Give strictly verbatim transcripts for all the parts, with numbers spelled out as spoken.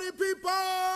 party people!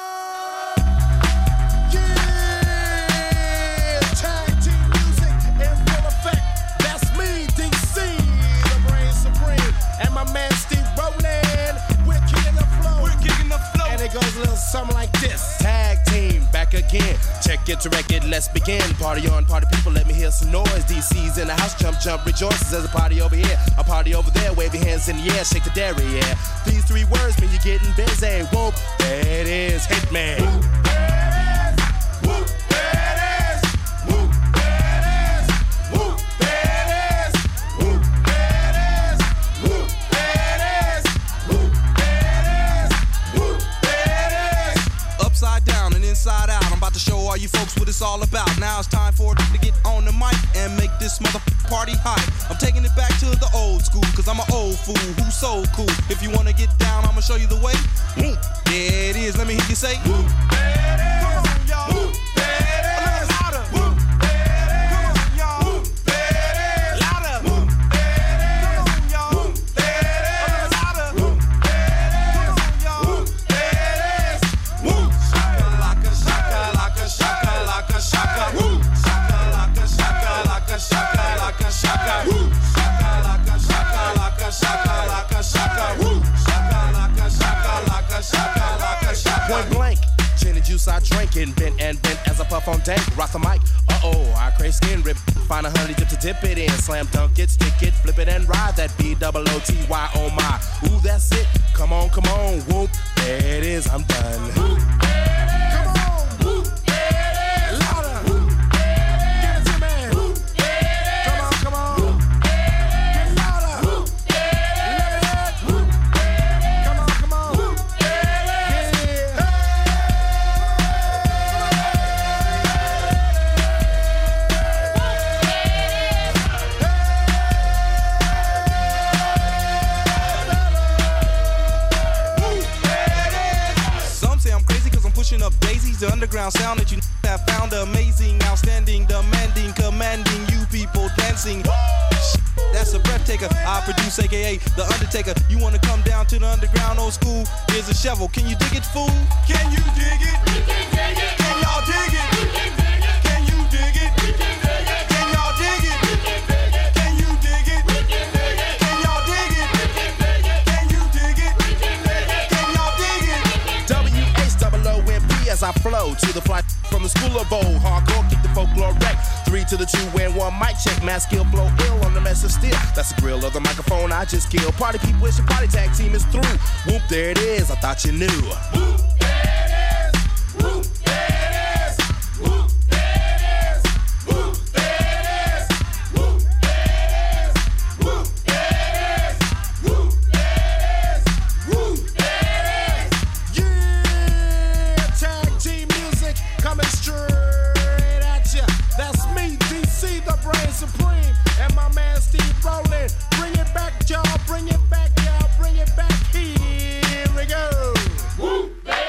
Yeah! Tag team music in full effect. That's me, D C, the brain supreme. And my man Steve Ronan. We're kicking the flow. We're kicking the flow. And it goes a little something like this. Tag team, back again. Check it to record, let's begin. Party on, party people, let me hear some noise. D C's in the house, jump, jump, rejoices. There's a party over here, a party over there. Wave your hands in the air, shake the dairy, yeah. These three words mean you're getting busy. Whoop, there it is, Hitman. Whoop, there it is. Whoop, there it is. Whoop, there it is. Whoop, there it is. Whoop, there it is. Whoop, there it is. Whoop, there it is. Whoop, there it is. Upside down and inside out, I'm about to show all you folks what it's all about. Now it's time for it to get on the mic and make this mother party hot. I'm taking it back to the old school, cause I'm an old fool who's so cool. If you wanna get down, I'ma show you the way. Woo, there it is, let me hear you say. Woo, there it is. Come on, y'all. Woo, there it is. A little louder. Woo, there it is. Come on, y'all. Woo, there it is. Louder. Woo, there it is. Come on, y'all. Woo, there it is. A little louder. Woo, there it is. Come on, y'all. Woo, there it is. Woo, shaka-laka, shaka-laka, shaka-laka, shaka. Woo, shaka-laka, shaka-laka, shaka-laka, shaka. Woo, shaka-laka, shaka-laka, shaka-laka, shaka. Woo, shaka-laka, shaka-laka, shaka-laka, shaka. Point blank, gin and juice I drink and bent and bent as I puff on dank. Rock the mic, uh-oh, I crave skin rip. Find a honey dip to dip it in. Slam dunk it, stick it, flip it and ride that B O O T Y, oh my. Ooh, that's it, come on, come on, whoop. There it is, I'm done. Whoop, there it is. Come on, whoop, there it is. Louder, whoop, there it is. Give it to me, whoop, there it is. Come on, come on, whoop, there it is. Get louder, whoop, there it is. Let it hit, whoop, there it is. Come on, come on, whoop, there it is. Yeah. Some say I'm crazy cause I'm pushing up daisies. The underground sound that you have found amazing, outstanding, demanding, commanding you people dancing. That's a breath taker. I produce, aka The Undertaker. You wanna come down to the underground old school? Here's a shovel. Can you dig it, fool? Can you dig it? We can dig it. Can y'all dig it? We can dig it. Can you dig it? We can dig it. Can y'all dig it? We can dig it. Can you dig it? We can dig it. Can y'all dig it? We can dig it. Can you dig it? We can dig it. Can y'all dig it? W H O O M P as I flow to the fly from the school of old. Hardcore, kick the folklore wreck. Three to the two and one mic check. Mass skill flow ill on the mess of steel. That's the grill of the microphone I just killed. Party people, it's your party tag team is through. Whoop, there it is, I thought you knew. Whoop, there it is. Whoop, there it is. Whoop, there it is. Whoop, there it is. Whoop, there it is. Whoop, there it is. Whoop, there it is. Whoop, there it is. Yeah, tag team music coming straight at ya. That's me, D C, the brain supreme, and my man Steve Roland. Bring it back, y'all. Bring it back, y'all. Bring it back. Here we go. Whoop, there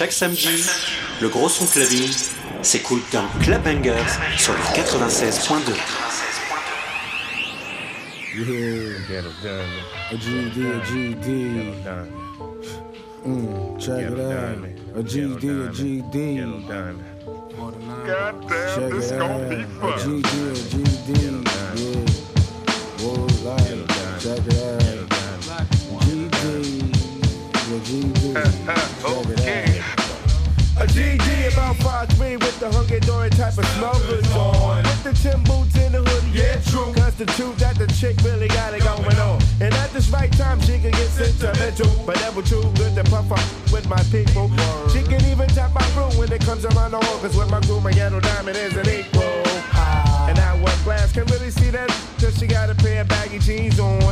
Chaque samedi, le gros son clubbing s'écoute dans Club Bangers sur le quatre-vingt-seize point deux. Yeah, a G D, a G D. Mm, check it out. A G D, a G D. Goddamn, Check this it gon' out. be A fun. G D, a G D. Yeah. Whoa, like, check it out. G D, a G D. Check it out. A G D about five three with the hunky-dory type of smokers on. With the Tim boots in the hoodie, yeah, true. Constitute that the chick really got it going on. And at this right time, she can get sentimental. But never too good to puff up with my people. She can even tap my room when it comes around the hole. Cause with my crew, my ghetto diamond is an equal. And I one glass can really see that. Cause she got a pair of baggy jeans on.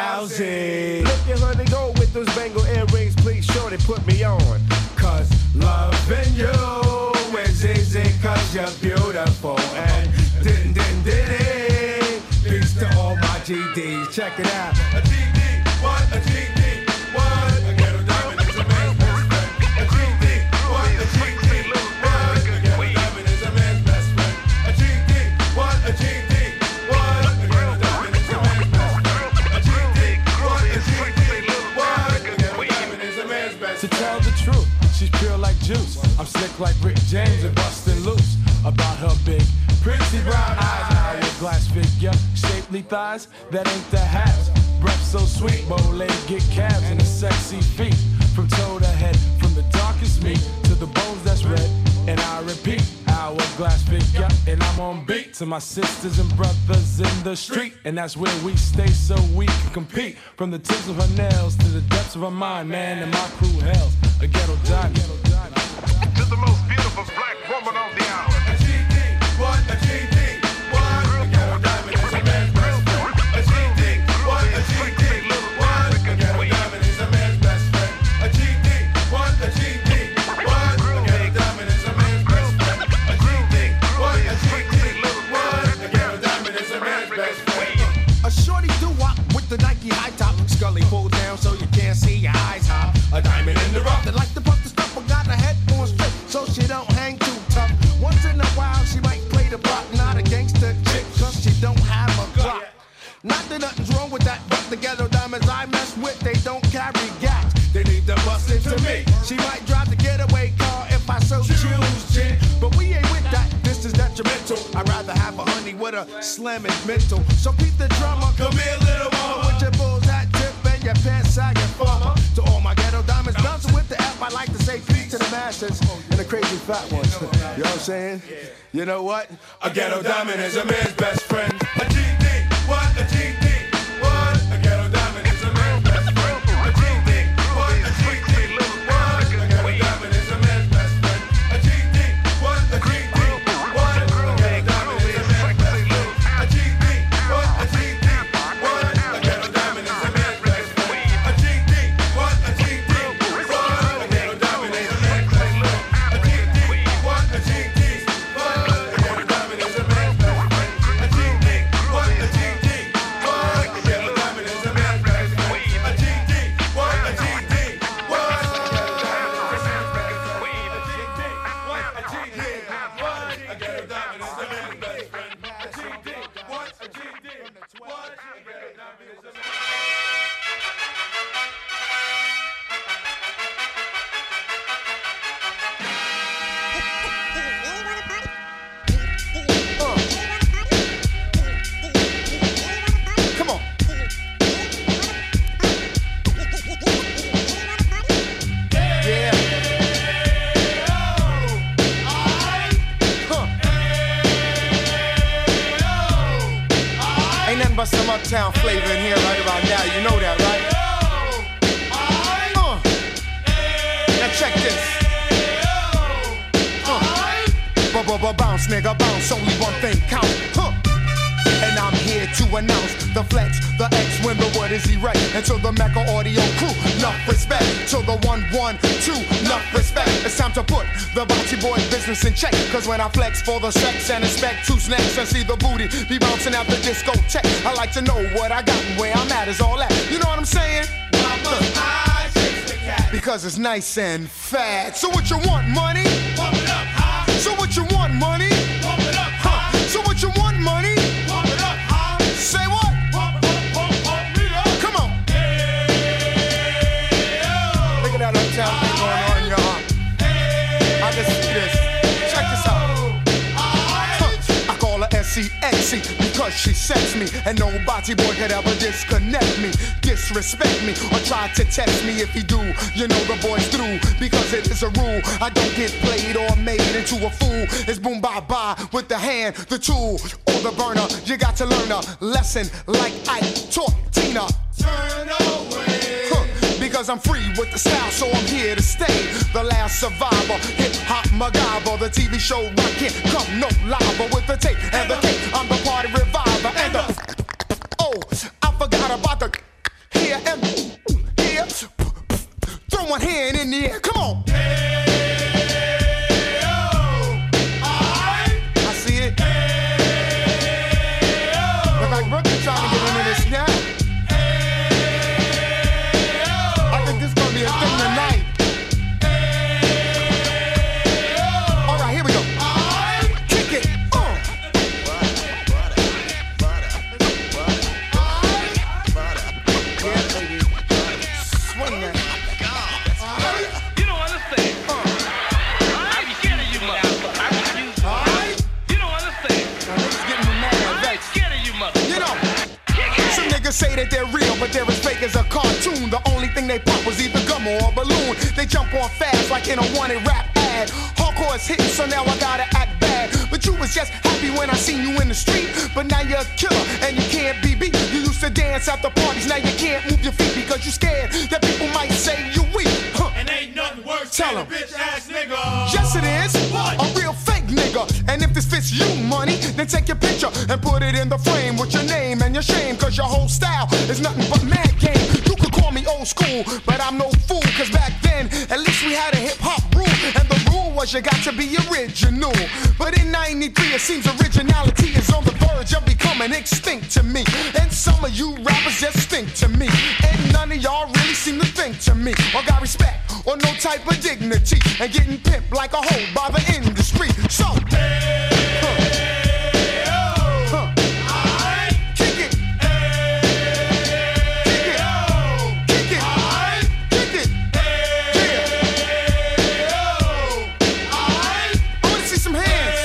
Owzie. Look at honey go with those Bengal earrings. Please, shorty, put me on. Cause loving you is easy cause you're beautiful. And din din din din. Peace to all my G Ds. Check it out. A G D, what? A G D, what? A ghetto diamond is a man's best friend. A G D, what? A G D, what? A ghetto diamond is a man's best friend. A G D, what? A G D, what? A ghetto diamond is a man's best friend. A G D, what? A G D, what? A ghetto diamond is a man's best friend. To tell the truth, she's pure like juice. I'm slick like Rick James and bustin' loose. About her big, pretty brown eyes, hourglass figure, shapely thighs, that ain't the halves. Breath so sweet, bow-legged calves and a sexy feet. From toe to head, from the darkest meat to the bones that's red. And I repeat, hourglass figure, and I'm on beat to my sisters and brothers in the street. And that's where we stay so we can compete. From the tips of her nails to the depths of her mind, man, and my crew hails a ghetto diamond. To the most beautiful black woman on the hour. A G D, what? A G D, what? A ghetto diamond is a man's best friend. A G D, what? A G D, what? A ghetto diamond is a man's best friend. A G D, what? A G D, what? A ghetto diamond is a man's best friend. A G D, what? A G D, what? A ghetto diamond is a man's best friend. A shorty doo-wop with the Nike high top, scully pulled down so you can't see your eyes hop. A diamond in the rough. They like to puff the stuff, but got her head on straight, so she don't hang too tough. Once in a while, she might play the block, not a gangster chick, cause she don't have a clock. Not that nothing's wrong with that, but the ghetto diamonds I mess with, they don't carry gas. They need to bust into me. She might drive the getaway car if I so choose, G. But we ain't with that, this is detrimental. I'd rather have a honey with a slam and mental. So keep the drama, come here, little mama, with your bulls hat tip and your pants sagging farmer. To all my ghetto diamonds, bouncing with the F, I like to say peace to the masses and the crazy fat ones. You know what I'm saying? You know what? A ghetto diamond is a man's best friend. A G D, what? A G D, what? A ghetto diamond is a man's best friend. A G D, what? A G D, what? A ghetto diamond is a man's best friend. A G D, what? A G D, what? A ghetto diamond is a man's best friend. A G D, what? A G D, what? A ghetto diamond is a man's best friend. A G D, what? A G D, what? A ghetto diamond is a man's best friend. A G D, what? A G D, what? A ghetto diamond is a man's best friend. A G D, what? A G D, what? A ghetto diamond is a man's best friend. A G D, what? A G D, what? A ghetto diamond is a man's best friend. A G D, what? A G D, what? A ghetto diamond is a man's best friend. A G D, what? A G D, what? A ghetto diamond is a man's best friend. Come on. Yeah. Huh. Ain't nothing but some uptown flavor in here right about now. You know that, right? Uh. Now check this. Uh. Bounce, nigga, bounce. Only one thing count. Huh. And I'm here to announce the flex, the X when the word is erect. And to the Mecca audio crew, enough respect. To the one, one, two, enough respect. It's time to put the Bocce boy business in check. Cause when I flex for the sex and inspect two snacks and see the booty be bouncing out the discotheque, I like to know what I got and where I'm at is all that. You know what I'm saying? Why must I chase the cat? because it's nice and fat. So what you want, money? Pump it up high. So what you want, money? Pump it up high. So what you want, money? Pump it up high. Say what? Pump, pump, pump, pump me up. Come on. Hey, oh. Look at that uptown thing going on, y'all. Hey, I can see this. Check this out. Huh. I call her S C X C because she sets me, and nobody boy could ever disconnect me, disrespect me, or try to test me. If you do, you know the boy's through, because it is a rule. I don't get played or made into a fool. It's boom bye bye with the hand, the tool, or the burner. You got to learn a lesson like Ike taught Tina. Turn away. Huh. Because I'm free with the style, so I'm here to stay. The last survivor, hip hop MacGyver, the T V show rock can't come no lava with the tape and the tape. I'm the party reviver and the oh, I forgot about the here and here. Throw one hand in the air, come on. Hey, oh, I, I see it. Hey, oh, look like Brooklyn trying to get into this now. Say that they're real, but they're as fake as a cartoon. The only thing they pop was either gum or a balloon. They jump on fast like in a wanted rap ad. Hardcore is hitting, so now I gotta act bad. But you was just happy when I seen you in the street. But now you're a killer and you can't be beat. You used to dance at the parties, now you can't move your feet because you're scared that people might say you weak. Huh. And ain't nothing worse Tell than a bitch ass nigga. Yes it is. What? A real fake nigga. And if this fits you, money, then take your picture and put it in the frame with your name and your shame, cause your whole style is nothing but mad game. You could call me old school, but I'm no fool, cause back then, at least we had a hip hop rule, and the rule was you got to be original. But in ninety-three, it seems originality is on the verge of becoming extinct to me. And some of you rappers just stink to me, and none of y'all really seem to think to me, or got respect, or no type of dignity, and getting pimped like a hoe by the industry. So, hey, huh. Huh. I kick it. Hey, kick it. Oh. Kick it. I kick it. Hey, yeah. Oh. I, I want to see some hands.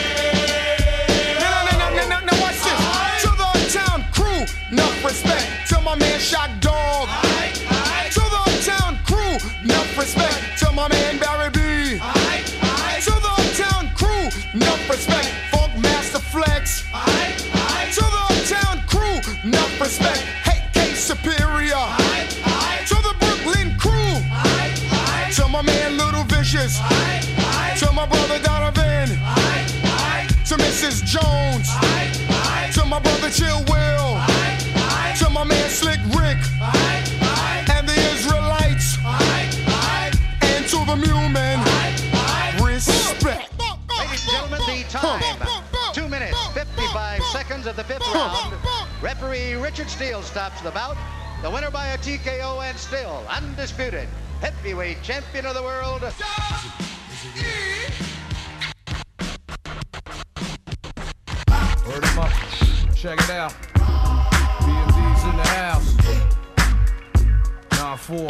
Hey, no, no, no, no, no, no, watch this. I, to the town crew, enough respect. To my man Shock Dog. I, I, to the town crew, enough respect. To my man Barry B. I, I, to the town crew, enough respect. Funk Master Flex. I, I, to the town crew, enough respect. Hey, K Superior. I, I, to the Brooklyn crew. I, I, to my man Little Vicious. I, I, to my brother Donovan. I, I, to Missus Jones. I, I, to my brother Chill Will. I, I, to my man Slick Rick. I, I, and the Israelites. I, I, and to the Mule Men. Respect. Ladies and gentlemen, the time. Two minutes, fifty-five seconds of the fifth round. Referee Richard Steele stops the bout. The winner by a T K O and still undisputed heavyweight champion of the world. Word 'em up. Check it out. B M D's in the house. nine four.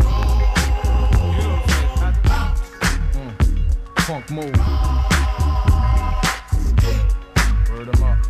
Mm. Funk move. Word 'em up.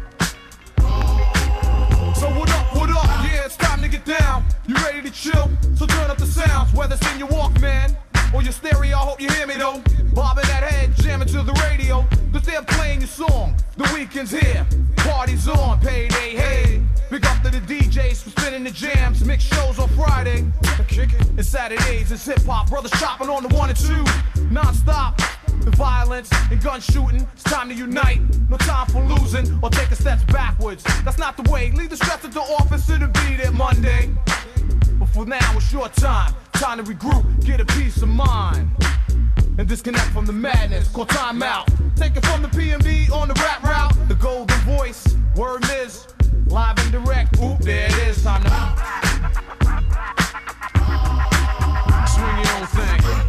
So what up, what up? Yeah, it's time to get down. You ready to chill? So turn up the sounds, whether it's in your Walkman or your stereo. I hope you hear me though. Bobbing that head, jamming to the radio, cause they're playing your song. The weekend's here, party's on, payday, hey. Big up to the D Js for spinning the jams, mix shows on Friday. And Saturdays it's hip hop, brothers chopping on the one and two. Non-stop, the violence and gun shooting. It's time to unite, no time for losing or taking steps backwards. That's not the way, leave the stress at the office, it'll be there Monday. But for now it's your time, time to regroup, get a peace of mind. And disconnect from the madness, call time out. Take it from the P M B on the rap route. The golden voice, word is live and direct. Oop, there it is, time to swing your own thing.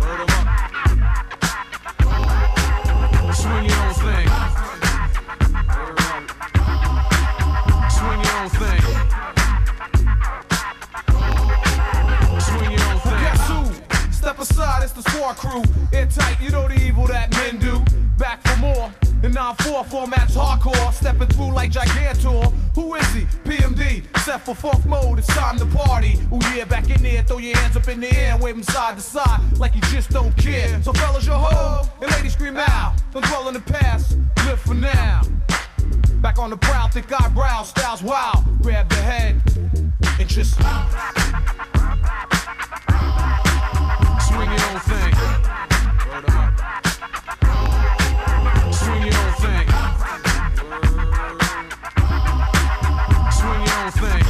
nine four formats hardcore, stepping through like Gigantor. Who is he? P M D, set for funk mode, it's time to party. Oh yeah, back in there, throw your hands up in the air, wave them side to side like you just don't care. So fellas, you're home, and ladies scream out. Don't dwell in the past, live for now. Back on the prowl, thick eyebrows, styles wild. Grab the head and just swing your own thing. Swing your own thing. Swing your own thing.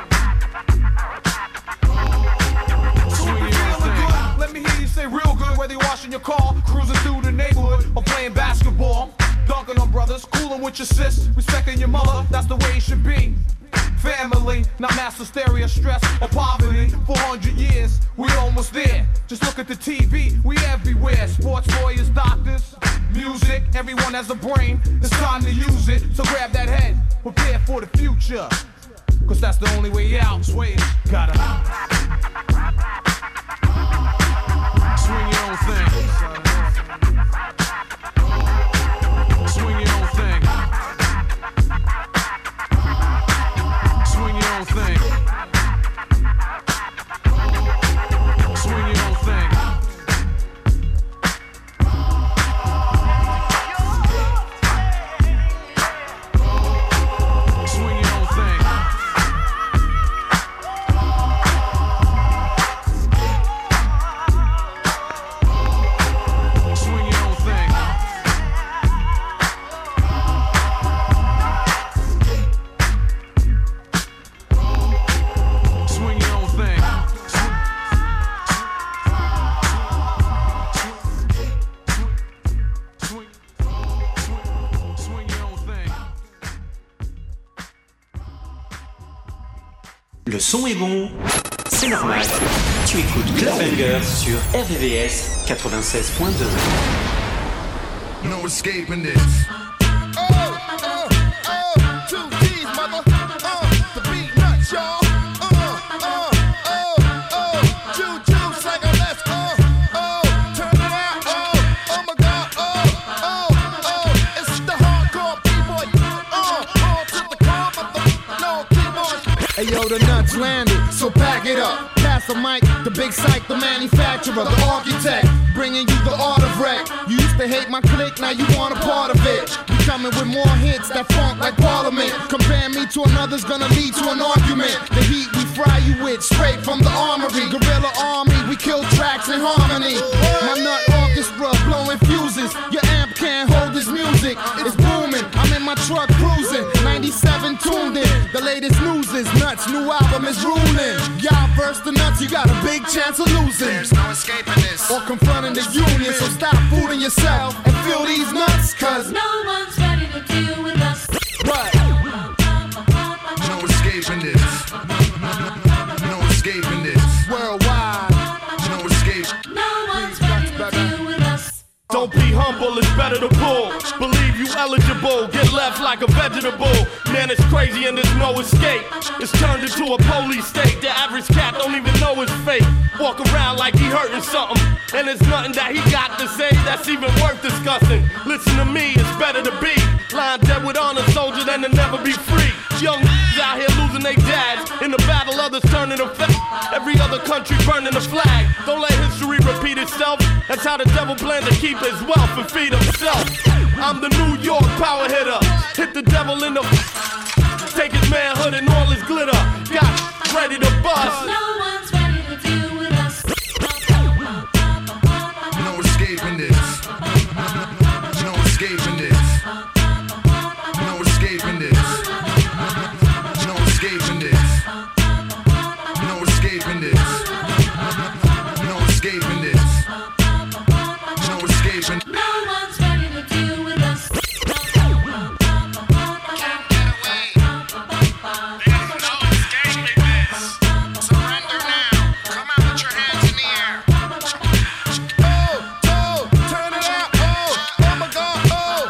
Swing your own thing. Let me hear you say real good, whether you're washing your car, cruising through the neighborhood, or playing basketball. Dunking on brothers, cooling with your sis, respecting your mother, that's the way it should be. Family, not mass hysteria, stress, or poverty. four hundred years, we almost there. Just look at the T V, we everywhere. Sports, lawyers, doctors, music, everyone has a brain. It's time to use it, so grab that head, prepare for the future. Cause that's the only way out. Sway it, gotta swing your own thing. Swing your own thing. Swing your own thing. Swing your own thing. Swing your own thing. Swing your own thing. Swing your own thing. Swing, swing, swing your own thing. Le son est bon, c'est normal. Tu écoutes Club Banger sur R V V S quatre-vingt-seize point deux. No escaping this. Oh, oh, oh, two G's, mother. Uh, the beat nuts, y'all. Uh, uh, oh, oh, juju, like a let's go. Oh, turn it out. Oh, oh my God. Oh, oh, oh, it's the hardcore B-boy. Uh, on to the car, mother. No keyboard. Hey yo, the nuts landed, so pack it up. Pass the mic, the big psych, the manufacturer, the architect, bringing you the art of wreck. You used to hate my clique, now you want a part of it. We coming with more hits that funk like Parliament. Compare me to another's gonna lead to an argument. The heat we fry you with, straight from the armory. Guerrilla army, we kill tracks in harmony. My nut orchestra blowing fuses. Your amp can't hold this music. It's booming, I'm in my truck cruising. ninety-seven tuned in, the latest news is nuts. New album is ruling. Y'all verse the nuts, you got a big chance of losing. There's no escaping this. Or confronting the union, so stop fooling yourself and feel these nuts, cause no one's ready to deal with us. Right. No escaping this. No escaping this. Worldwide. No escape. No one's ready to deal with us. Don't be humble, it's better to pull. Believe you eligible, get left like a vegetable. Man, it's crazy and there's no escape. It's turned into a police state. The average cat don't even know his fate. Walk around like he hurting something, and there's nothing that he got to say that's even worth discussing. Listen to me, it's better to be lying dead with honor, soldier, than to never be free. Young out here losing their dads in the battle, others turning to fat. Every other country burning the flag. Don't let history repeat itself. That's how the devil plans to keep his wealth and feed himself. I'm the New York power hitter. Hit the devil in the take his manhood and all his glitter. Got ready to bust. No one's ready to deal with us. No escaping this. No escaping this. No escaping this. No escaping this. No escaping this. No escaping this. No escaping. No one's ready to deal with us. Can't get away. There's no escaping this. Surrender now. Come out with your hands in the air. Oh, oh, turn it out. Oh, oh my God. Oh,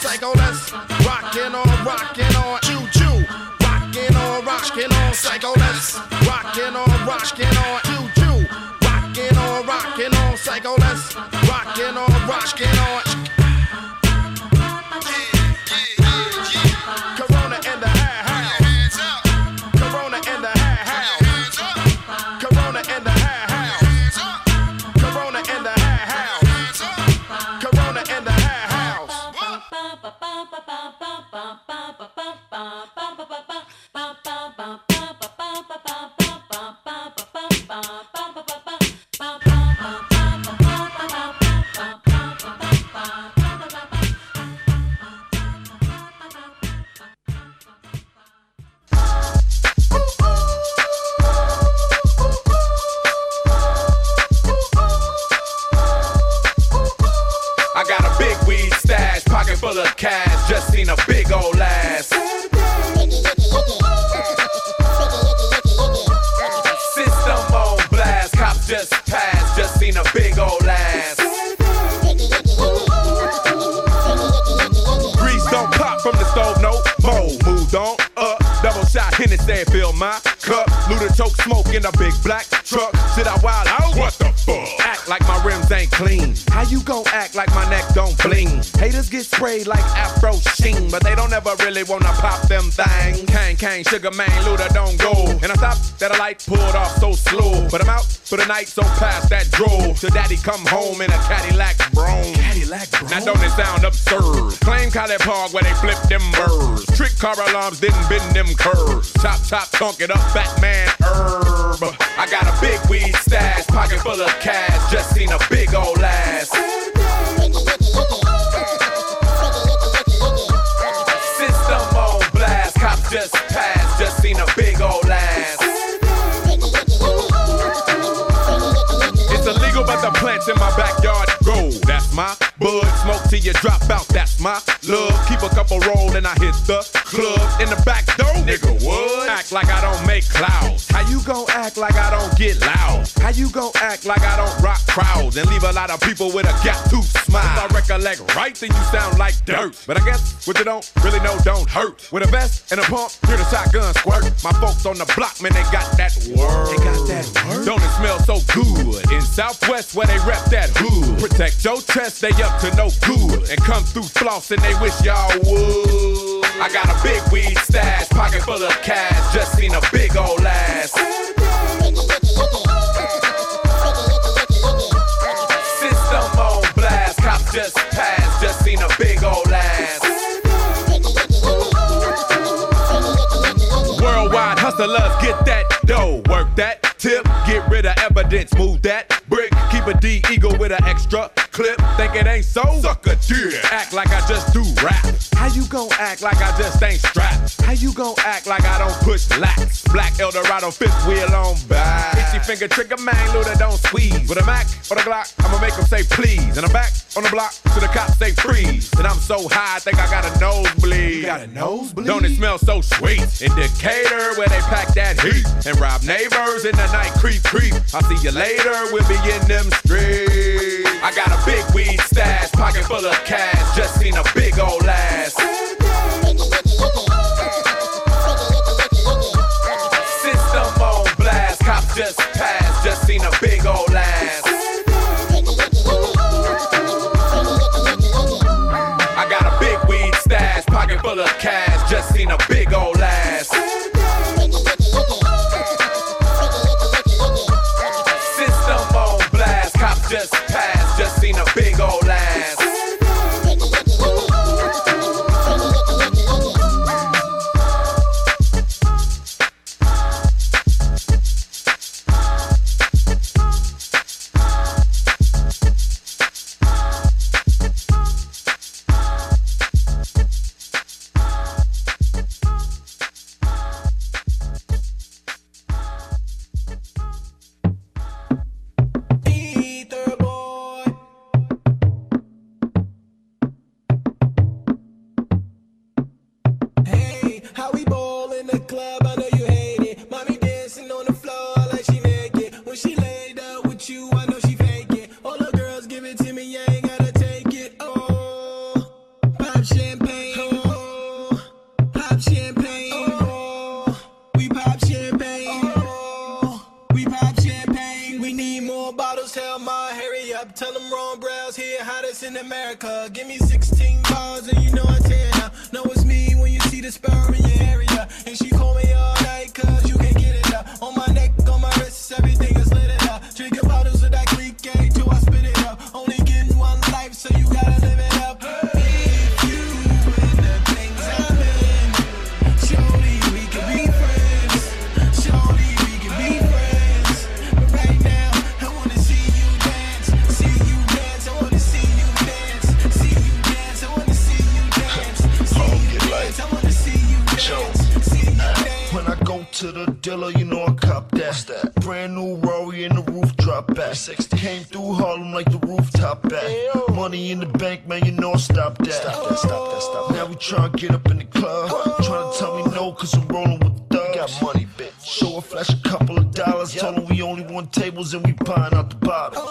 psycho, let's rockin' on, rockin' on, choo choo. Rockin' on, rockin' on, psycho, let's rockin' on, rockin' on, choo choo. Rockin' on, rockin' on, psycho, let's rockin' on, rockin' on. Corona in the house. Corona in the house. Corona in the house. Corona in the house. Corona in the house. I got a big weed stash, pocket full of cash, just seen a big old ass. System on blast, cops just passed, just seen a big old ass. Grease don't pop from the stove, no more. Moved on up, double shot Hennessy, fill my cup. Luda choke smoke in a big black truck. Sit out wild out, what the fuck? Act like my rims ain't clean. How you gon' act like my neck don't bling? Haters get sprayed like Afro Sheen, but they don't ever really wanna pop them things. Kang, Kang, Sugar Man, Luda don't go. And I stopped at a light, pulled off so slow. But I'm out for the night, so past that drove. Till daddy come home in a Cadillac Brougham. Cadillac Brougham? Now don't it sound absurd? Claim College Park where they flip them birds. Trick car alarms didn't bend them curves. Chop, chop, tonk it up, Batman herb. I got a big weed stash, pocket full of cash, just seen a big old ass. System on blast, cops just passed, just seen a big old ass. It's illegal, but the plants in my backyard grow. That's my bud, smoke till you drop out, that's my love. Keep a couple roll and I hit the club. In the back door, nigga, what? Act like I don't make clouds. How you gon' act like I don't get loud? How you gon' act like I don't rock crowds and leave a lot of people with a gap tooth smile? If I recollect right, then you sound like dirt. But I guess what you don't really know don't hurt. With a vest and a pump, hear the shotgun squirt. My folks on the block, man, they got that word. They got that word. Don't it smell so good? In Southwest where they rep that hood. Protect your chest, they up to no good. And come through floss and they wish y'all would. I got a big weed stash, pocket full of cash, just seen a big old ass. System on blast, cops just passed, just seen a big old ass. Worldwide hustlers, get that dough, work that tip, get rid of evidence, move that brick, keep a D eagle with an extra clip. Think it ain't so? Suck a dick. Act like I just do rap. How you gon' act like I just ain't strapped? How you gon' act like I don't push lax? Black Eldorado, fifth wheel on back. Itchy finger trigger man, Luda don't squeeze. With a Mac or the Glock, I'ma make them say please. And I'm back on the block to the cops say freeze. And I'm so high, I think I got a nosebleed. You got a nosebleed? Don't it smell so sweet? In Decatur, where they pack that heat and rob neighbors in the night, creep, creep. I'll see you later, we'll be in them streets. I got a big weed stash, pocket full of cash, just seen a big old ass. System on blast, cops just passed, just seen a big old ass. I got a big weed stash, pocket full of cash, just seen a big old ass. System on blast, cops just passed, just seen a big old ass. in America. Give me sixteen bars and you know I tear it up. Know it's me when you see the sperm in your area. And she call me all night cause you can't get it up. On my neck, on my wrist, everything is lit it up. Drinking bottles of that Greek gay till I spit it up. Only getting one life so you gotta live it up. If you in the things I'm in, surely we can be friends. Surely we can be friends. But right now, I wanna see you dance. See you dance, I wanna see you dance. See you dance, I wanna see you dance. See you dance, I wanna see you dance. See you dance. When I go to the dealer, you know I cop that. that? Brand new Rory in the roof drop back. Came through Harlem like the rooftop back. Money in the bank, man, you know I stop that. Stop that, stop that, stop that. Now we tryna get up in the club. Tryna tell me no, cause I'm rolling with thugs. Got money, bitch. So I flash a couple of dollars. Told them we only want tables and we buying out the bottles.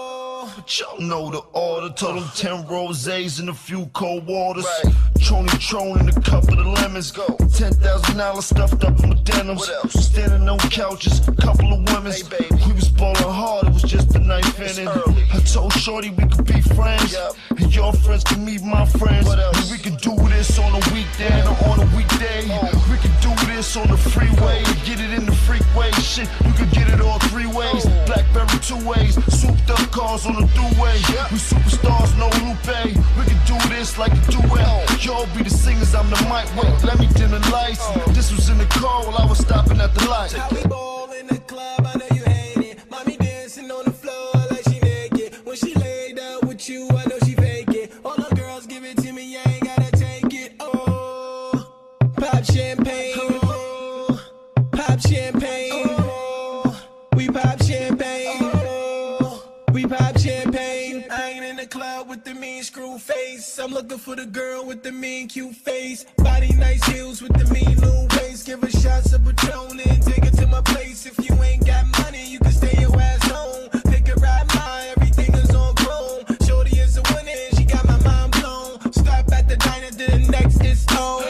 But y'all know the order. Told them ten rosés and a few cold waters. Right. Trony Tron and a couple of lemons. Go. ten thousand dollars stuffed up in my denims. What else? Standing on couches, couple of women. Hey, baby. We was ballin' hard, it was just a knife in it. I told Shorty we could be friends. Yep. And your friends can meet my friends. What else? And we can do this on a weekend or on a weekday. Oh. We can do this on the freeway. Get it in the freeway. Shit, you can get it all three ways. Oh. Blackberry two ways. Souped up cars on the throughway. Yep. We superstars, no Lupe. We can do this like a duet. Oh. Y'all be the singers, I'm the mic. Wait, let me dim the lights. Oh. This was in the car while I was stopping at the light. How we ball in the club, I know you hate it. Mommy dancing on the floor like she naked. When she laid out with you, I know she fake it. All the girls give it to me, I ain't gotta take it. Oh, pop champagne. Oh, pop champagne. Oh, we pop champagne. Oh, we pop champagne. I ain't in the club with the mean screw face. I'm looking for the girl with the mean cute face. Body nice heels with the mean little waist. Give her shots of Patron and take it to my place. If you ain't got money, you can stay your ass home. Pick a ride, mine, everything is on chrome. Shorty is a winner and she got my mind blown. Stop at the diner, then the next is home.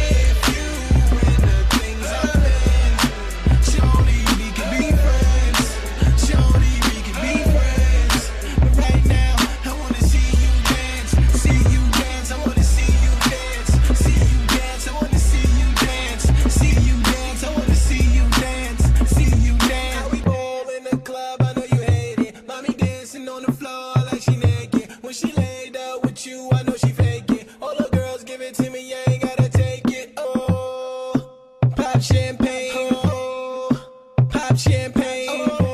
If you in the things I'm in, surely we can be friends. Surely we can be friends. But right now, I wanna see you dance. See you dance, I wanna see you dance. See you dance, I wanna see you dance. See you dance, I wanna see you dance. See you dance. How we ball in the club, I know you hate it. Mommy dancing on the floor like she naked. When she laid out with you, I know she fake it. All the girls give it to me, I ain't gotta take it. Oh, pop champagne. Oh, pop champagne.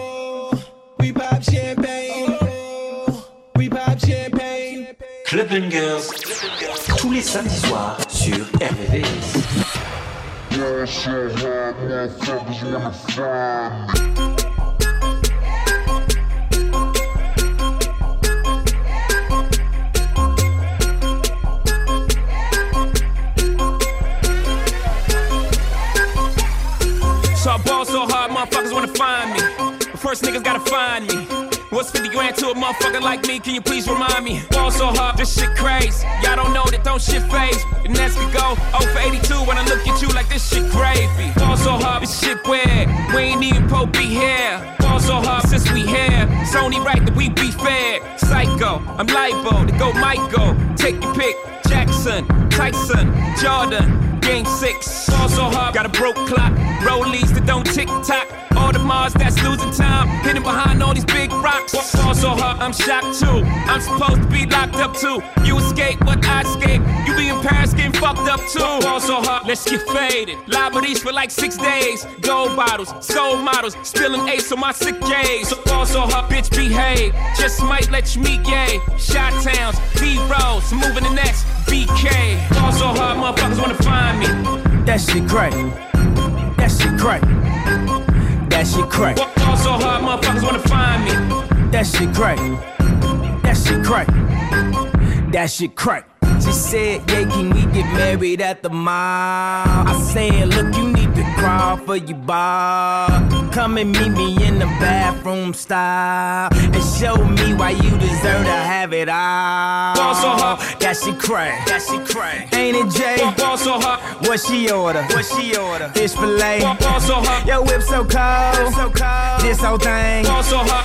Oh, we pop champagne. Oh, we pop champagne. Club Bangers, tous les samedis soirs sur R V V S. Yeah, shit, hard motherfuckers wanna find me. So I ball so hard, motherfuckers wanna find me. But first niggas gotta find me. What's fifty grand to a motherfucker like me? Can you please remind me? Ball so hard, this shit crazy. Y'all don't know that don't shit phase. The next could go oh for eighty-two when I look at you like this shit gravy. Ball so hard, this shit weird. We ain't even po be here. Ball so hard since we here. It's only right that we be fair. Psycho, I'm libo to go Michael. Take your pick. Jackson, Tyson, Jordan. Game six, ball so hard, got a broke clock. Rollies that don't tick tock. All the Mars that's losing time, hidden behind all these big rocks. Ball so hard, I'm shocked too. I'm supposed to be locked up too. You escape, but I escape. You be in Paris getting fucked up too. Ball so hard, let's get faded. Liberties for like six days. Gold bottles, soul models, spilling ace on my sick days. So ball so hard, bitch behave. Just might let you meet gay. Shot towns, B rolls, moving the next B K. Ball so hard, motherfuckers wanna find me. That shit crack. That shit crack. That shit crack. Ball so hard, motherfuckers wanna find me. That shit crack. That shit crack. That shit crack. She said, yeah, can we get married at the mall? I said, look, you need to crawl for your bar. Come and meet me in the bathroom style and show me why you deserve to have it all. Ball so hard. That shit crack. That shit crack. Ain't it, Jay? Ball so hard. What she order? What she order? Fish fillet. Ball so hard. Your whip so cold. So cold. This whole thing. Ball so hot. Act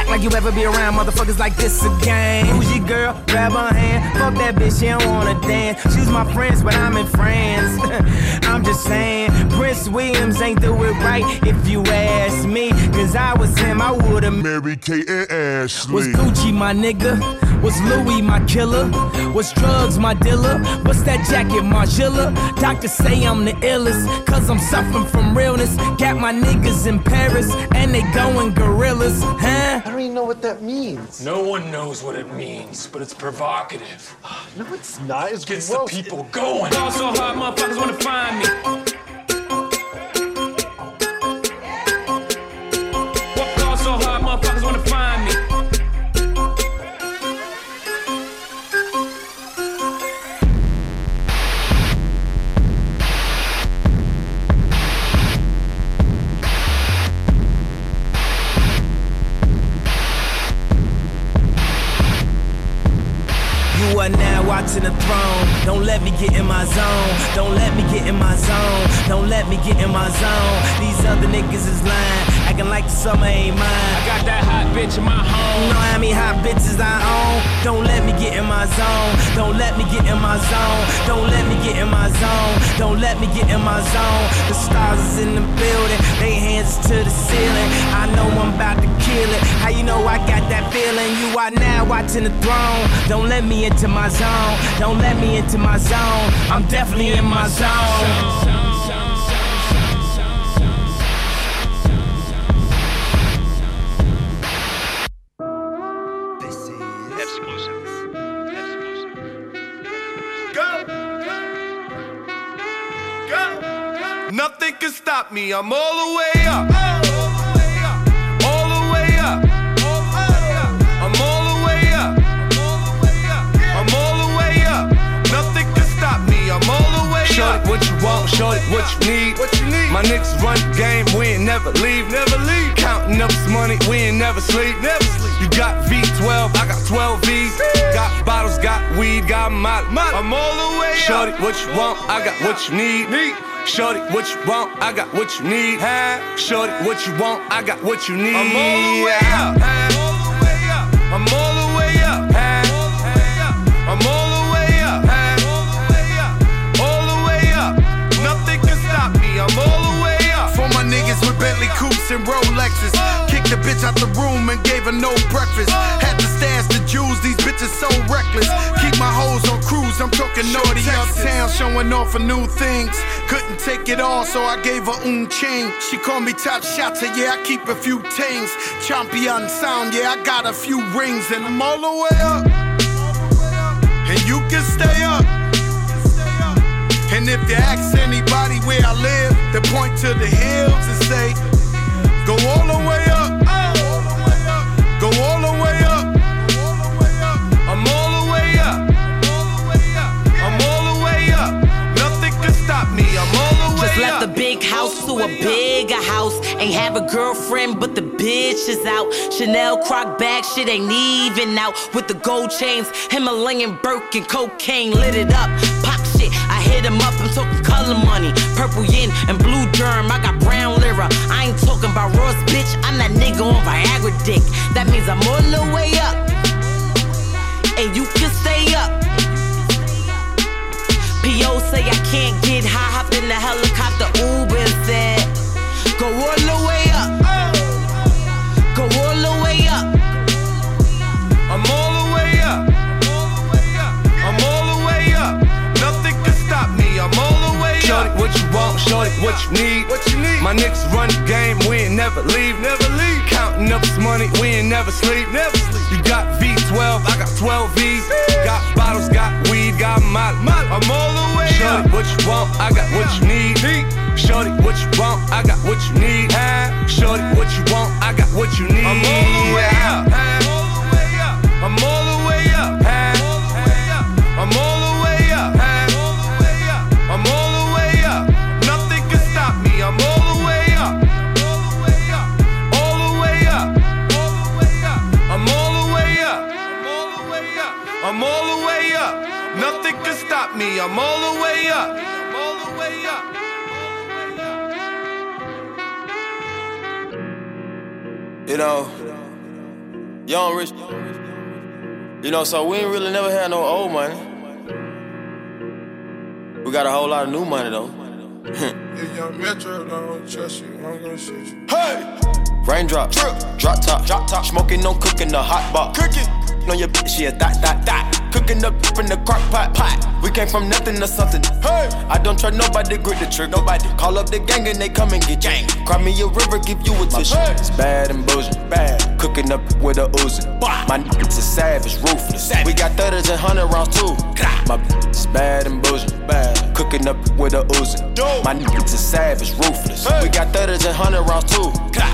like you ever be around motherfuckers like this again. Who's your girl? Grab her hand. Fuck that bitch, she don't wanna dance. She's my friends, but I'm in France. I'm just saying, Prince Williams ain't do it right if you ask me. Cause I was him, I would've married Kate and Ashley. Was Gucci my nigga? Was Louis my killer? Was drugs my dealer? What's that jacket, Margiela? Doctors say I'm the illest, cause I'm suffering from realness. Got my niggas in Paris, and they going gorillas, huh? I don't even know what that means. No one knows what it means, but it's provocative. No, it's not. It gets gross. the people going. Ball so hard, motherfuckers wanna find me. Ball so hard, motherfuckers wanna find me. You are now watching the throne. Don't let me get in my zone. Don't let me get in my zone. Don't let me get in my zone. These other niggas is lying, acting like the summer ain't mine. I got that hot bitch in my home. You know how many hot bitches I own? Don't let me get in my zone. Don't let me get in my zone. Don't let me get in my zone. Don't let me get in my zone. The stars is in the building. They hands to the ceiling. I know I'm about to kill it. How you know I got that feeling? You are now watching the throne. Don't let me into my zone. Don't let me into my zone. I'm definitely in my zone. Nothing can stop me, I'm all the way up. All the way up. I'm all the way up. I'm all the way up. Nothing can stop me, I'm all the way up. Shorty, what you want, shorty, what you need. What you need? My niggas run the game, we ain't never leave. Never leave. Counting up this money, we ain't never sleep. Never sleep. You got V twelve, I got twelve V's. Got bottles, got weed, got molly. I'm all the way up. Shorty, what you want, I got what you need. Need. Shorty, what you want, I got what you need. Shorty, what you want, I got what you need. I'm all the way up. I'm all the way up. I'm all the way up. All the way up. Nothing can stop me. I'm all the way up. For my niggas with Bentley coupes and Rolexes. Kicked the bitch out the room and gave her no breakfast. Had to stash the jewels, these bitches so reckless. Keep my hoes on cruise, I'm talking naughty uptown, showing off for new things. Couldn't take it all, so I gave her un chain. She called me top shotter, yeah, I keep a few tings. Champion sound, yeah, I got a few rings. And I'm all the way up, and you can stay up. And if you ask anybody where I live, they point to the hills and say, go all the way up, go all the way up. I'm all the way up. I'm all the way up. Nothing can stop me. I'm all the way Just left up. the big house to a bigger house. Ain't have a girlfriend, but the bitch is out. Chanel croc bag, shit ain't even out. With the gold chains, Himalayan Birkin, cocaine lit it up. Pop shit, I hit him up, I'm talking color money. Purple yin and blue germ, I got brown lira. I ain't talking about Ross, bitch, I'm that nigga on Viagra dick. That means I'm all the way up, and you can stay up. P O say I can't get high, hop in the helicopter, Uber and said, go all the way up, go all the way up. I'm all the way up. I'm all the way up. Nothing can stop me. I'm all the way up. Shorty, what you want, shorty, what you need. What you need? My niggas run the game, we ain't never leave. Never leave. Counting up this money, we ain't never sleep. Never sleep. You got V twelve, I got twelve V's. Got bottles, got weed, got molly. I'm all the way Shorty, up. what you want, I got what you need. Shorty, what you want, I got what you need. Shorty, what you want, I got what you need. I'm all the way up. I'm all the way up. I'm all the way up. I'm all the way up. Nothing can stop me. I'm all the way up. All the way up. I'm all the way up. I'm all the way up. Nothing can stop me. I'm all the way up. I'm all the way up. You know, young rich. You know, so we ain't really never had no old money. We got a whole lot of new money though. If young Metro don't trust you, I'm gonna shoot you. Hey! Raindrop, drip, drop top, drop top. Smoking, no cooking, the hot pot. Cooking. On your bitch, she a dot, dot, dot. Cooking up in the crock pot, pot. We came from nothing to something. Hey! I don't trust nobody, grip the trick. Nobody call up the gang and they come and get gang. Cry me a river, give you a tissue. It's bad and bullshit, bad. Cooking up with a Uzi. My niggas is savage, ruthless. Savage. We got thirties and hundred rounds too. My bitch is bad and bullshit, bad. Cooking up with a Uzi. My niggas is savage, ruthless. Hey. We got thirties and hundred rounds too.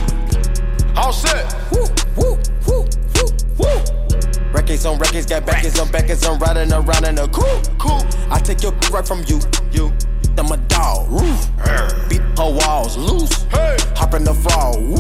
All set. Woo, woo, woo, woo, woo. Records on records, got backers on backers. I'm riding around in a cool, cool. I take your right from you, you. I'm a dog, roof. Beat her walls loose. Hey. Hop in the fall, woo.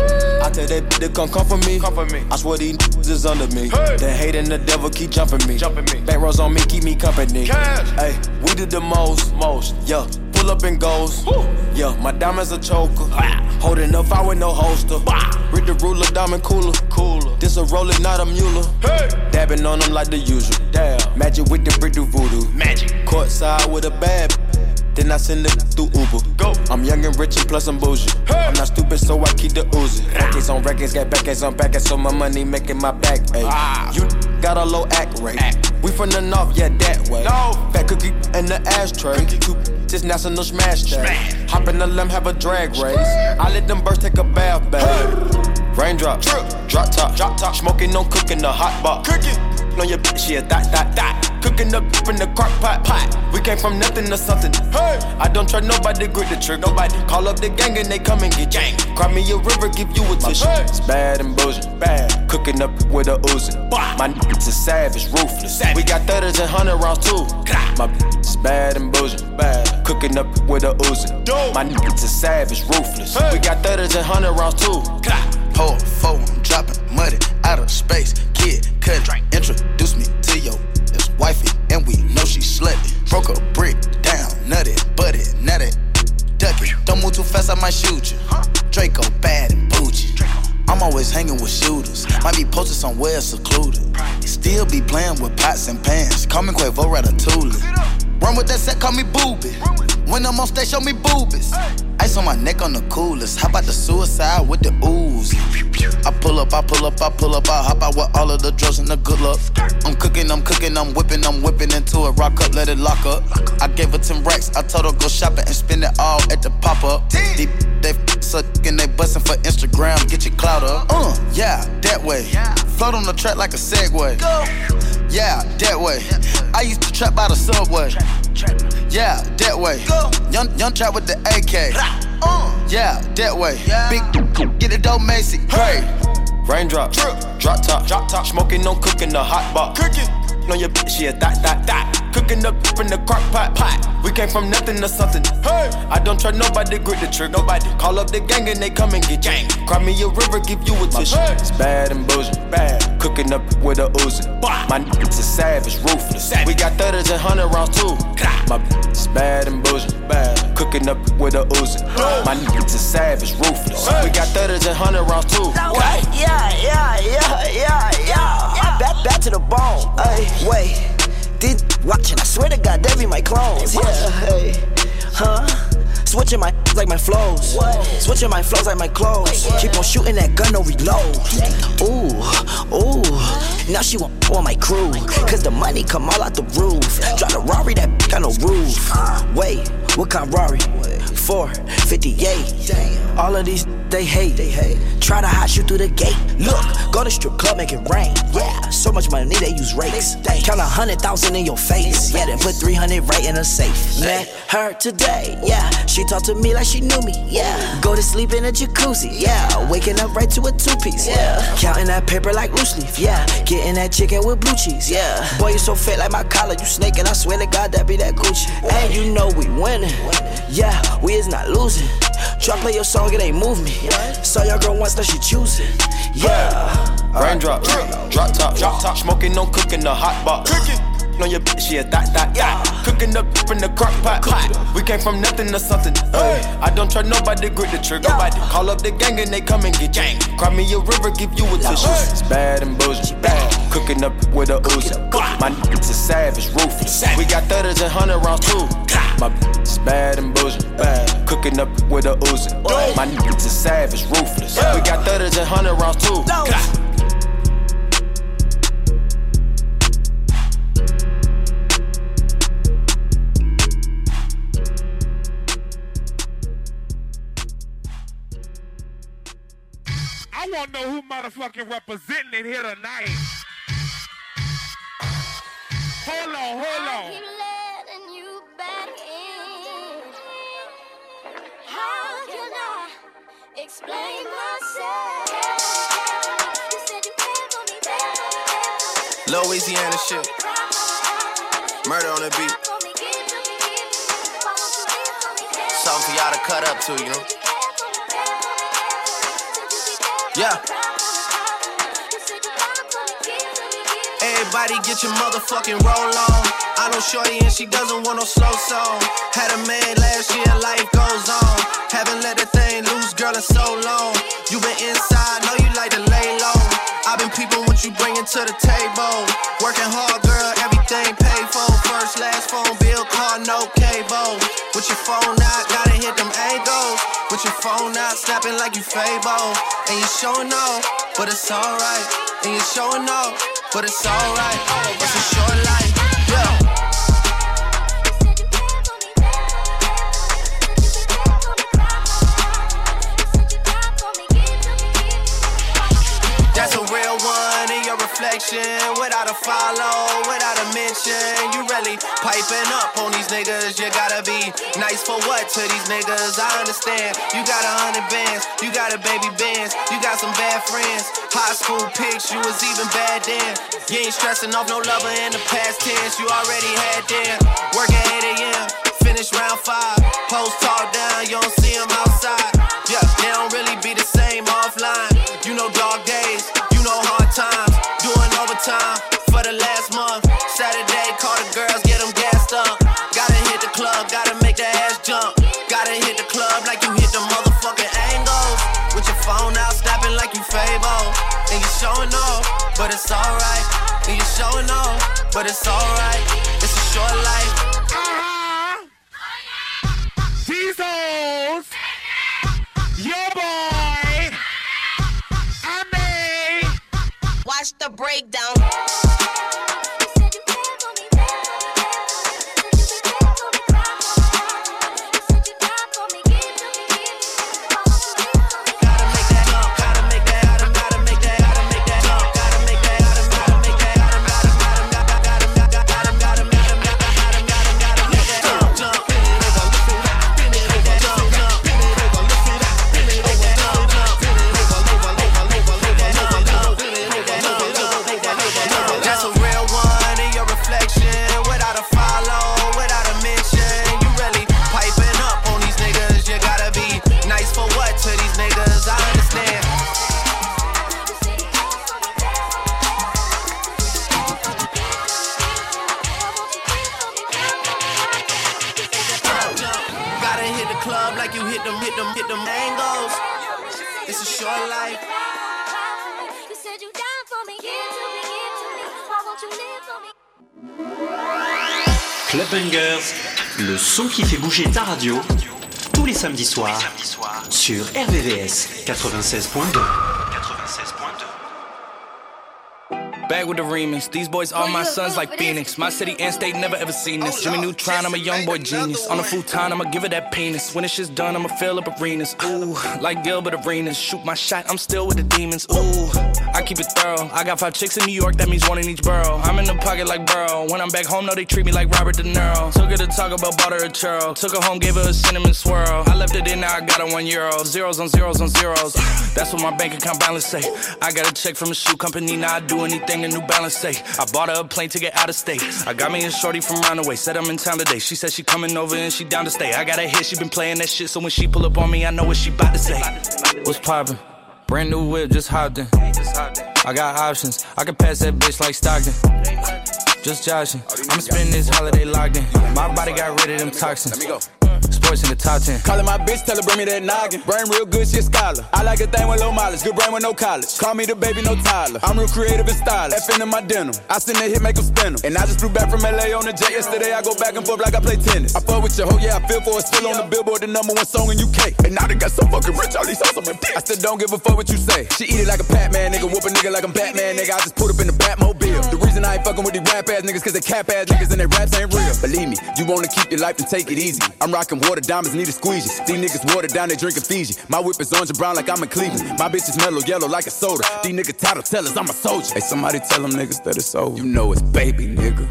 I tell that bitch to come come for me. Come for me. I swear these niggas is under me. Hey. The hate and the devil keep jumping me. Jumping me. Back rows on me, keep me company. Cash. Hey, we did the most, most, yeah. Pull up and goes. Woo. Yeah, my diamonds a choker. Ah. Holding up, I with no holster. Bah. Read the ruler, diamond cooler. Cooler. This a roller, not a mule. Hey. Dabbing on them like the usual. Damn. Magic with the brick do voodoo. Magic. Courtside with a bad. Then I send it through Uber. Go. I'm young and rich and plus I'm bougie. Hey. I'm not stupid, so I keep the Uzi. Records on records, got backers on backers, so my money making my back. Ay. Ah. You got a low act rate. Act. We from the north, yeah, that way. No. Fat cookie in the ashtray. Cookie. Just national smash day. Smash. Hop in the limb, have a drag race. I let them birds take a bath, babe. Hey. Raindrop, drip, drop top, drop top. Smoking, no cooking, the hot pot. Cooking. On your bitch, she a dot, dot, dot. Cooking up in the crock pot, pot. We came from nothing to something. Hey. I don't trust nobody, grip the trick. Nobody call up the gang and they come and get gang. Cry me a river, give you a tissue. Hey. It's bad and bullshit, bad. Cooking up with a Uzi. Bah. My niggas is savage, ruthless. Savage. We got thirties and hundred rounds too. My bitch is bad and bullshit, bad. Cooking up with a Uzi. Dope. My niggas is savage, ruthless. Hey. We got thirties and hundred rounds too. Pour four, I'm dropping money out of space. Kid, cut, introduce me to your wifey, and we know she slutty. Broke a brick down, nutty, butty, nutty, ducky. Don't move too fast, I might shoot you. Draco bad and bougie. I'm always hanging with shooters. Might be posted somewhere secluded. Still be playing with pots and pans. Call me Quavo Ratatouille. Run with that set, call me Booby. When I'm on stage, show me boobies. Ice on my neck on the coolest. How about the suicide with the ooze? I pull up, I pull up, I pull up, I hop out with all of the drugs and the good luck. I'm cooking, I'm cooking, I'm whipping, I'm whipping into it. Rock up, let it lock up. I gave her ten racks, I told her go shopping and spend it all at the pop-up. They, they suckin', they bustin' for Instagram, get your clout up. Uh, yeah, that way. Float on the track like a Segway. Yeah, that way. I used to trap by the subway. Yeah, that way. Young, young trap with the A K. Yeah, that way. Big, get it dope, Macy. Hey. Raindrop, drip, drop top, drop top. Smoking, no cooking, the hot pot. Cooking. On your bitch, she a dot, dot, dot. Cooking up in the crock pot, pot. We came from nothing to something. Hey. I don't trust nobody, grip the trick. Nobody call up the gang and they come and get gang. Cry me a river, give you a tissue. Hey. It's bad and bullshit, bad. Cooking up with a Uzi. Bah. My niggas is savage, ruthless. Savage. We got thirties and hundred rounds too. My bitch is bad and bullshit, bad. Cooking up with a Uzi. Oh. My niggas is savage, ruthless. Hey. We got thirties and hundred rounds too. What? Yeah, yeah, yeah, yeah, yeah. Back, back to the bone. Ay, wait. Did watching? I swear to God, they be my clones. Yeah, hey, huh? Switching my like my flows. What? Switching my flows like my clothes. Wait, keep on shooting that gun, no reload. Ooh, ooh. Now she want on my crew. Cause the money come all out the roof. Drive the Rari, that bitch got no roof. Wait, what kind of Rari? four fifty-eight. All of these they hate. They hate. Try to hide you through the gate. Look, go to strip club, make it rain. Yeah, so much money they use rakes. Count a hundred thousand in your face. Yeah, then put three hundred right in a safe. Met her today. Yeah, she talked to me like she knew me. Yeah, go to sleep in a jacuzzi. Yeah, waking up right to a two piece. Yeah, counting that paper like loose leaf. Yeah, getting that chicken with blue cheese. Yeah, boy you so fat like my collar. You snaking. I swear to God that be that Gucci. And you know we winning. Yeah, we is not losing. Try play your song, it ain't move me. Saw your girl once, now she choosing. Yeah. Raindrop, drip, drop top, drop top. Smoking, no cooking, the hot pot. Cooking. on your bitch, she a dot, dot, yeah. Cooking up in the crock pot, pot. We came from nothing to something. Hey. I don't trust nobody, grip the trigger. Nobody call up the gang and they come and get gang. Cry me a river, give you a tissue. It's bad and bullshit. Bad. Cooking up with a Uzi. My niggas is savage, ruthless. We got thirties and hundred rounds too. My bitch is bad and bullshit. Bad. Cooking up with a Uzi. My niggas is savage, ruthless. We got thirties and hundred rounds too. I wanna know who motherfucking representing it here tonight. Hold on, hold on. I keep letting you back in. How can I explain myself? You said you cared for me, cared for me. Louisiana shit. Murder on the beat. Something for y'all to cut up to, you know? Yeah. Everybody get your motherfucking roll on. I know shorty and she doesn't want no slow song. Had a man last year, life goes on. Haven't let that thing loose, girl, in so long. You been inside, know you like to lay low. I've been peeping what you bringing to the table. Working hard, girl, everything paid for. First, last phone bill, car, no cable. With your phone out, gotta hit them angles. With your phone out, snapping like you Fable. And you showing off, but it's alright. And you showing off, but it's alright. It's a short life, yeah. That's a real one in your reflection. Without a follow, without a mention. You really piping up on these niggas. You gotta be nice for what to these niggas? I understand. You got a hundred bands, you got a baby bands, you got some bad friends. High school pics, you was even bad then. You ain't stressing off no lover in the past tense. You already had them. Work at eight a.m., finish round five. Post talk down, you don't see them outside. Yeah, they don't really be the same offline. You know dog days, you know hard times. Doing overtime for the last month. Saturday, call the girls, get them gassed up. Gotta hit the club, gotta make that ass jump. Gotta hit the club like you hit the motherfucking angles. With your phone out, snapping like you Fable. And you showing off, but it's alright. And you showing off, but it's alright. It's a short life. Uh-huh. These hoes, your boy, I mean. Watch the breakdown. Club Bangers, le son qui fait bouger ta radio, tous les samedis soirs, sur R V V S quatre-vingt-seize point deux. Back with the remix. These boys are my sons like Phoenix. My city and state never ever seen this. Jimmy Neutron, I'm a young boy genius. On a futon, I'ma give it that penis. When this shit's done, I'ma fill up arenas. Ooh, like Gilbert Arenas. Shoot my shot, I'm still with the demons. Ooh, I keep it thorough. I got five chicks in New York, that means one in each borough. I'm in the pocket like Burrow. When I'm back home, no, they treat me like Robert De Niro. Took her to talk about bought her a churro. Took her home, gave her a cinnamon swirl. I left it in, now I got her one euro. Zeros on zeros on zeros. That's what my bank account balance say. I got a check from a shoe company, now I do anything a New Balance say. I bought her a plane to get out of state. I got me a shorty from Roundaway. Said I'm in town today. She said she coming over and she down to stay. I got a hit, she been playing that shit. So when she pull up on me, I know what she bout to say. What's poppin'? Brand new whip, just hopped in. I got options. I can pass that bitch like Stockton. Just joshing. I'ma spend this holiday locked in. My body got rid of them toxins. Let me go. Sports in the top ten. Callin' my bitch, tell her bring me that noggin. Brain real good, she a scholar. I like a thing with low mileage, good brain with no college. Call me the baby, no Tyler. I'm real creative and stylish. F in my denim. I send that hit, make them spin 'em. And I just flew back from L A on the jet yesterday. I go back and forth like I play tennis. I fuck with your hoe, yeah, I feel for it. Still on the Billboard, the number one song in U K. And now they got so fucking rich, all these hoes on my dick. I still don't give a fuck what you say. She eat it like a Pac-Man, nigga. Whoop a nigga like I'm Batman, nigga. I just put up in the Batmobile. The reason I ain't fucking with these rap ass niggas, cause they cap ass niggas and they raps ain't real. Believe me, you wanna keep your life and take it easy. I'm rocking water diamonds, need a squeegee. These niggas water down, they drinking Fiji. My whip is orange and brown like I'm in Cleveland. My bitch is mellow yellow like a soda. These niggas title tellers, I'm a soldier. Hey, somebody tell them niggas that it's over. You know it's baby, nigga.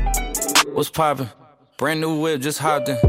What's poppin'? Brand new whip, just hopped in.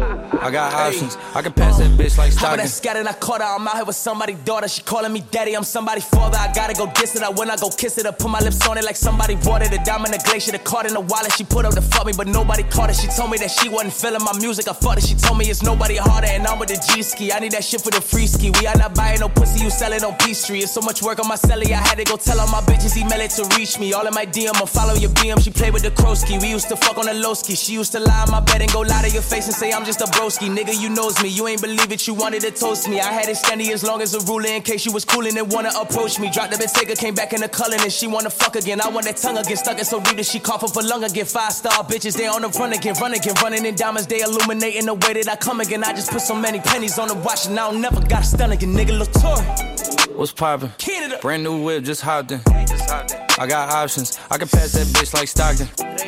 I got options. I can pass that bitch like Stockton. I'm that scattered, I caught her. I'm out here with somebody's daughter. She calling me daddy. I'm somebody's father. I gotta go diss it. I when I go kiss it. I put my lips on it like somebody bought it. A diamond, a glacier, the card in the wallet. She put up to fuck me, but nobody caught it. She told me that she wasn't feeling my music. I fucked it. She told me it's nobody harder, and I'm with the G ski. I need that shit for the free ski. We are not buying no pussy. You sell it on Peachtree. It's so much work on my celly. I had to go tell all my bitches email it to reach me. All in my D M, I follow your B M. She played with the Krosky. We used to fuck on the low ski. She used to lie on my bed and go lie to your face and say I'm just a broski. Nigga, you knows me. You ain't believe it. You wanted to toast me. I had it standing as long as a ruler in case you was coolin' and wanna approach me. Dropped the Bentayga, came back in the cullin' and she wanna fuck again. I want that tongue again, stuck it so deep that she cough up a lung again. Five star bitches, they on the run again, run again, running in diamonds. They illuminating the way that I come again. I just put so many pennies on the watch and I don't never got a stun again. Nigga, Latour. What's poppin'? Brand new whip, just hopped in. I got options. I can pass that bitch like Stockton.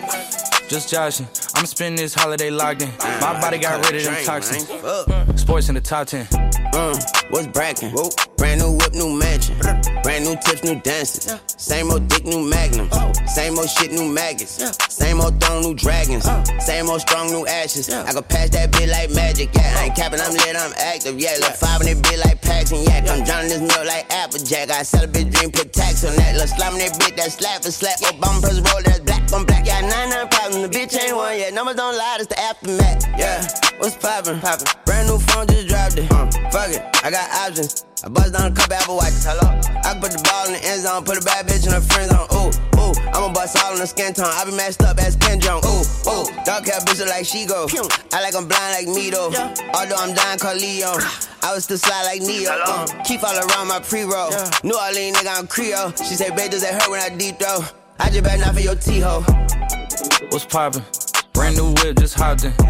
Just joshing. I'ma spend this holiday locked in. My body got rid of them toxins. Sports in the top ten. Uh, what's brackin'? Brand new whip, new mansion. Brand new tips, new dances. Same old dick, new magnums. Same old shit, new maggots. Same old throne, new dragons. Same old strong, new ashes. I can pass that bitch like magic. Yeah, I ain't capping, I'm lit, I'm active. Yeah, look five in that bitch like packs and yak. I'm drowning this milk like Applejack. I sell a bitch dream, put tax on that. Look slam that bitch, that slap for slap. Obama press roll, that's black on black. Yeah, nine nine problems. The bitch ain't one yet. Numbers don't lie, it's the aftermath. Yeah, what's poppin'? Poppin'. Brand new phone, just dropped it. Uh, fuck it, I got options. I bust down a couple Apple Watches. Hello. I can put the ball in the end zone, put a bad bitch in her friend zone. Ooh, ooh. I'ma bust all in the skin tone. I be messed up as Ken Jong. Ooh, ooh. Dark hair bitch look like she go. I like I'm blind like me though. Although I'm dying called Leon. I was still slide like Neo. Uh, keep all around my pre-roll. New Orleans nigga, I'm Creole. She say, babe, does it hurt when I deep throw? I just better not for your T-ho. What's poppin'? Brand new whip, just hopped in.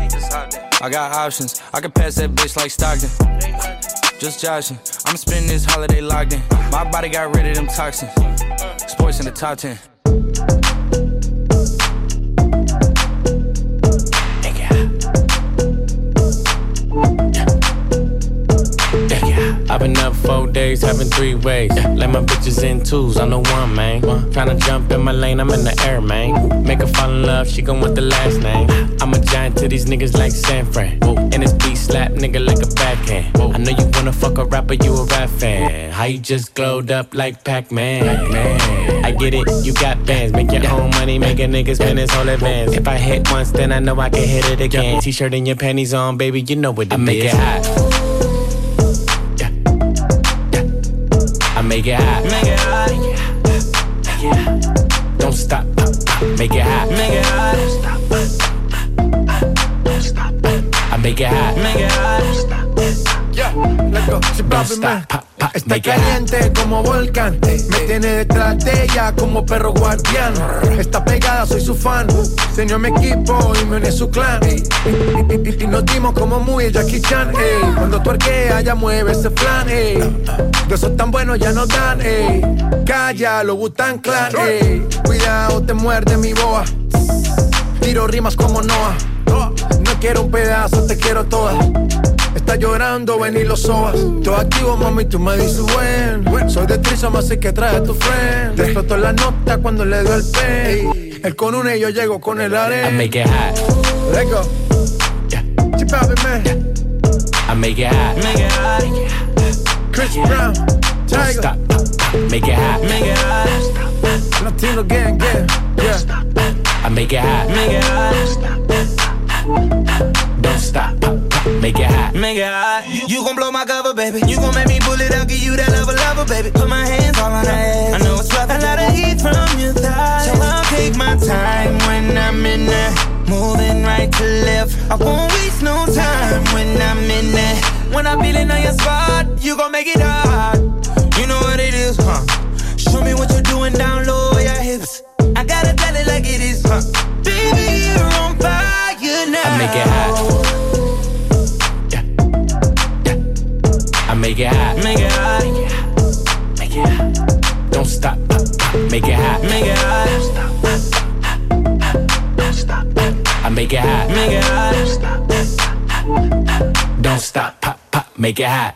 I got options. I can pass that bitch like Stockton. Just joshing. I'ma spend this holiday locked in. My body got rid of them toxins. Sports in the top ten. I've been up four days, having three ways. Let my bitches in twos, I'm the one, man. Tryna jump in my lane, I'm in the air, man. Make her fall in love, she gon' want the last name. I'm a giant to these niggas like San Fran. And this beat slap nigga like a backhand. I know you wanna fuck a rapper, you a rap fan. How you just glowed up like Pac-Man? Pac-Man. I get it, you got bands. Make your own money, make a nigga spend his whole advance. If I hit once, then I know I can hit it again. T-shirt and your panties on, baby, you know what it is. I make it hot. I make it hot. Make it hot. Make it hot. Don't stop. Make it hot. Make it hot. Don't stop. I make it hot. Make it hot. Yeah, let's go. Don't stop. Está caliente como volcán. Me tiene detrás de ella como perro guardián. Está pegada, soy su fan. Se unió a mi equipo y me uní a su clan. Y, y, y, y nos dimos como muy Jackie Chan. Ey. Cuando tuerquea, ya mueve ese flan. Ey. De esos tan buenos ya nos dan. Ey. Calla, lo Wu-Tang Clan. Ey. Cuidado, te muerde mi boa. Tiro rimas como Noah. No quiero un pedazo, te quiero toda. Está llorando, ven y lo sobas. Todo activo, mami, tú me dices buen. Soy de Trisom, así que trae a tu friend. Te explotó la nota cuando le doy el pen. Él con una y yo llego con el arena. I make it hot. Let's go. Yeah. Chip out, man. I make it hot. Make it hot. Chris Brown. Don't stop. Make it hot. Make it hot. Latino gang, gang. Yeah. I make it hot. Make it hot. Don't stop. make it hot. Make it hot. You gon' blow my cover, baby. You gon' make me pull it out, give you that lover, lover, baby. Put my hands all on her ass. I know it's rough. A lot of heat from your thighs, so I'll take my time when I'm in there. Moving right to left. I won't waste no time when I'm in there. When I'm feeling on your spot, you gon' make it hot. You know what it is, huh? Show me what you're doing down low, your hips. I gotta tell it like it is, huh? Baby, you're on fire now. I make it hot. Yeah. Yeah. I make it hot. Make it hot. Make it hot. Don't stop. Make it hot. Make it hot. Don't stop. I make it hot. Make it hot. Don't stop. Pop, pop. Make it hot.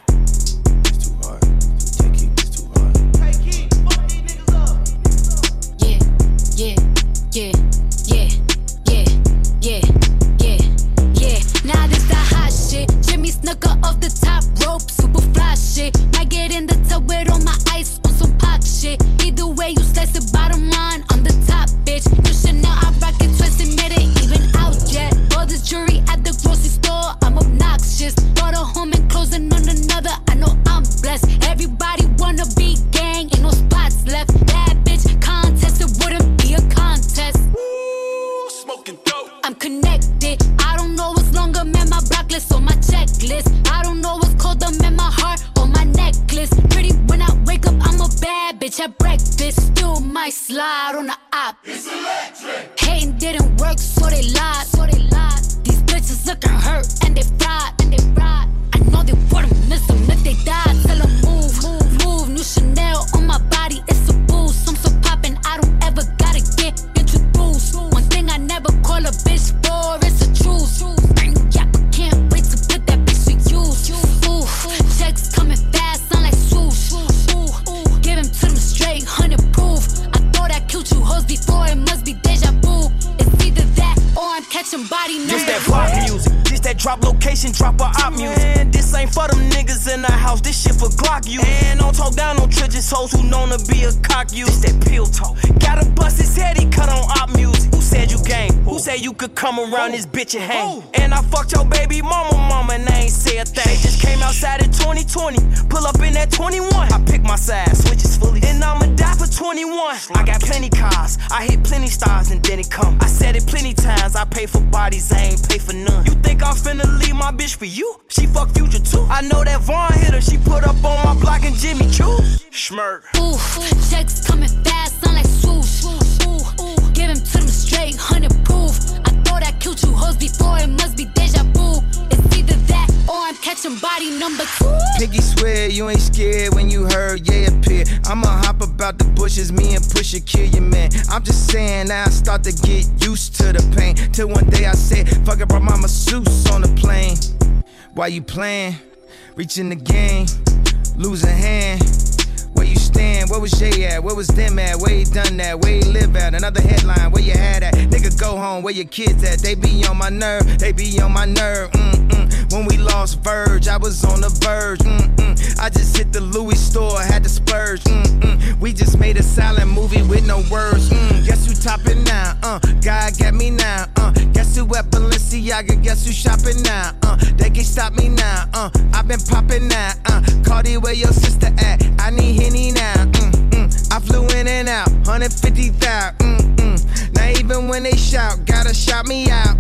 Yeah, yeah, yeah, yeah, yeah, yeah, yeah, yeah. Now this the hot shit. Jimmy Snooker off the top rope, super fly shit. Might get in the tub with all my ice on some pop shit. Either way, you slice the bottom line on the top, bitch. You should know I rock it twisted, made it even out yet. All this jewelry at the grocery store, I'm obnoxious. Brought a home and closing on another. I know I'm blessed. Everybody wanna be gang, ain't no spots left. Bad bitch contest, it wouldn't be a contest. Ooh, smoking dope. I'm connected. I don't know what's longer, man. My block list on my checklist. I don't know what's colder, man. My heart on my necklace. Pretty when I wake up, I'm a bad bitch at breakfast. Still might slide on the op. It's electric. Hating didn't work, so they lied. So they lied. These bitches looking hurt and they fried. And they fried. I know they wouldn't miss them if they died. Tell them move, move, move. New Chanel on my body, it's a boost. I'm so poppin', I don't ever gotta get introduced. One thing I never call a bitch for, it's a truce. Yeah, but can't wait to put that bitch to use. Ooh, checks coming fast, sound like swoosh. Ooh, give him to them straight, hundred proof. I thought I killed you hoes before, it must be deja vu. It's either that or I'm catching body numbers. This that pop music, this that drop location, drop a op music. And this ain't for them niggas in the house, this shit for Glock you. And don't talk down on trenches hoes who known to be a cock you. This that pill talk, gotta bust his head, he cut on op music. Who said you gang? Who said you could come around this bitch and hang? And I fucked your baby mama, mama, and I ain't say a thing. Just came outside in twenty twenty, pull up in that twenty-one. I pick my side, switches fully, and I'ma die for twenty-one. I got plenty cars, I hit plenty stars, and then it come. I said it plenty times, I pay for bodies, I ain't pay for none. You think I'm finna leave my bitch for you? She fuck Future too. I know that Vaughn hit her, she put up on my block and Jimmy Choo. Schmirk. Ooh, checks coming fast, sound like swoosh. Ooh, give him to them straight, hundred proof. I thought I killed you hoes before, it must be deja vu. It's either that or I'm catching body number two. Piggy swear you ain't scared when you heard yeah appear. I'ma hop about the bushes, me and Pusha kill your man. I'm just saying now I start to get used to the pain. Till one day I said, fuck it, brought my masseuse on the plane. Why you playing? Reaching the game, losing hand. Where you stand? Where was Jay at? Where was them at? Where he done that? Where he live at? Another headline, where you had at? Nigga go home, where your kids at? They be on my nerve, they be on my nerve. Mm-mm. When we lost Verge, I was on the verge. Mm-mm. I just hit the Louis store, had to splurge. Mm-mm. We just made a silent movie with no words. Mm. Guess who topping now? Uh, God got me now. Uh, guess who at Balenciaga? Guess who shopping now? Uh, they can't stop me now. Uh, I've been popping now. Uh, Cardi, where your sister at? I need Henny now. Mm-mm. I flew in and out, one hundred fifty thousand. Mm-mm. Now even when they shout, gotta shout me out.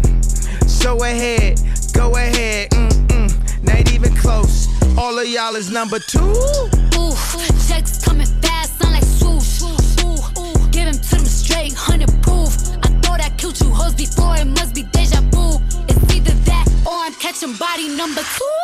So ahead, go ahead. Mm-mm. Not even close. All of y'all is number two. Ooh, checks coming fast, sound like swoosh. Ooh, give him to them straight, hundred proof. I thought I killed you hoes before, it must be deja vu. It's either that or I'm catching body number two.